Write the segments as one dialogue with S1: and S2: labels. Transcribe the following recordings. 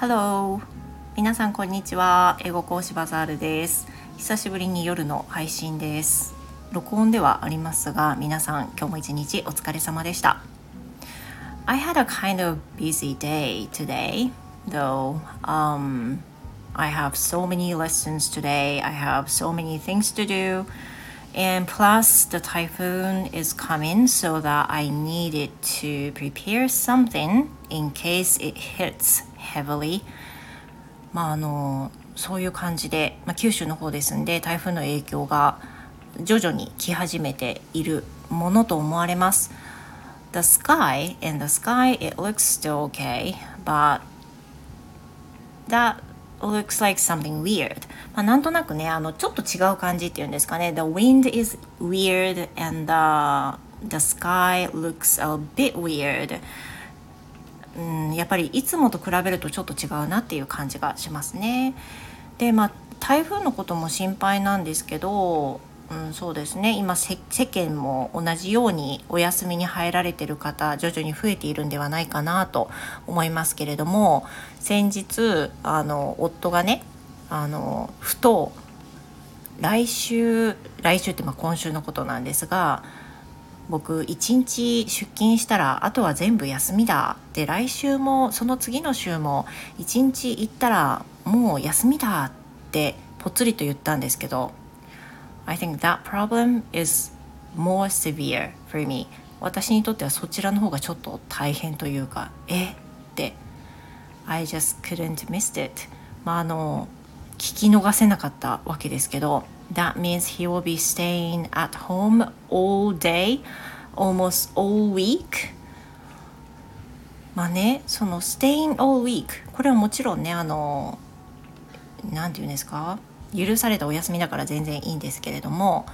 S1: Hello! 皆さんこんにちは。英語講師バザールです。久しぶりに夜の配信です。録音ではありますが、皆さん今日も一日お疲れ様でした。I had a kind of busy day today, though. I have so many lessons today. I have so many things to do. And plus, the typhoon is coming, so that I needed to prepare something in case it hits heavily. そういう感じで、九州の方ですんで、台風の影響が徐々に来始めているものと思われます。The sky, it looks still okay, but that looks like something weird. なんとなくね、ちょっと違う感じっていうんですかね。The wind is weird and the sky looks a bit weird. やっぱりいつもと比べるとちょっと違うなっていう感じがしますね。で、台風のことも心配なんですけど、そうですね、今世間も同じようにお休みに入られている方徐々に増えているんではないかなと思いますけれども、先日夫がねふと来週って今週のことなんですが、僕一日出勤したらあとは全部休みだって来週もその次の週も一日行ったらもう休みだってぽっつりと言ったんですけど、I think that problem is more severe for me. 私にとってはそちらの方がちょっと大変というか、って I just couldn't miss it. 聞き逃せなかったわけですけど、That means he will be staying at home all day, almost all week. その staying all week これはもちろんねなんていうんですか、許されたお休みだから全然いいんですけれども、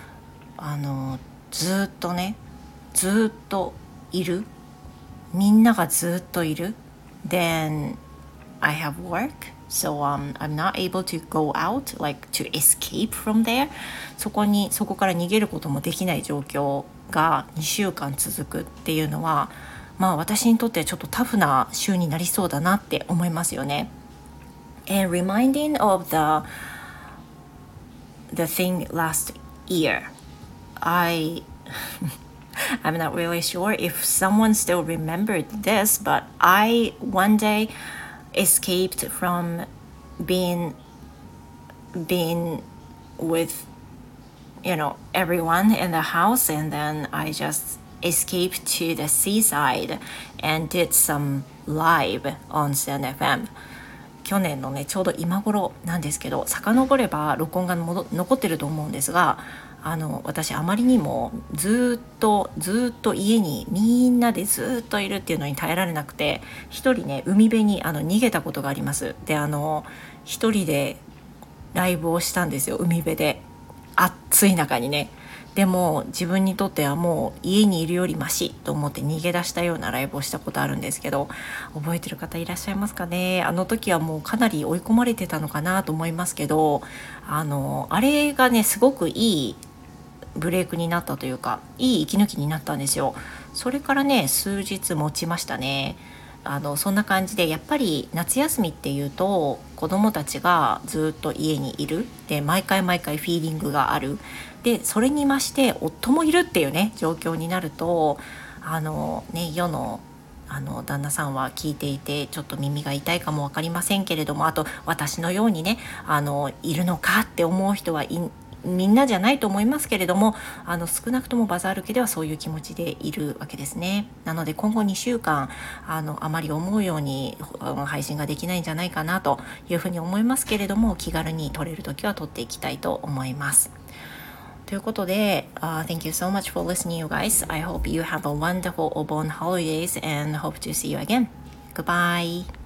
S1: ずっといる、みんながずっといる。 Then I have work, so I'm not able to go out, like to escape from there. そこから逃げることもできない状況が2週間続くっていうのは、私にとってはちょっとタフな週になりそうだなって思いますよね。And reminding of the thing last year, I'm not really sure if someone still remembered this, but I one day escaped from being with everyone in the house, and then I just escaped to the seaside and did some live on SNFM。去年のねちょうど今頃なんですけど、遡れば録音が残ってると思うんですが、私あまりにもずっと家にみんなでずっといるっていうのに耐えられなくて、一人ね海辺に逃げたことがあります。で一人でライブをしたんですよ、海辺で暑い中にね。でも自分にとってはもう家にいるよりマシと思って逃げ出したようなライブをしたことあるんですけど、覚えてる方いらっしゃいますかね。あの時はもうかなり追い込まれてたのかなと思いますけど、あれがねすごくいいブレイクになったというか、いい息抜きになったんですよ。それからね数日持ちましたね。そんな感じで、やっぱり夏休みっていうと子どもたちがずっと家にいるで、毎回フィーリングがあるで、それに増して夫もいるっていうね状況になると、世の旦那さんは聞いていてちょっと耳が痛いかも分かりませんけれども、あと私のようにねいるのかって思う人はみんなじゃないと思いますけれども、少なくともバザール家ではそういう気持ちでいるわけですね。なので今後2週間あまり思うように配信ができないんじゃないかなというふうに思いますけれども、気軽に撮れるときは撮っていきたいと思います。ということで、Thank you so much for listening, you guys. I hope you have a wonderful Obon holidays and hope to see you again. Goodbye.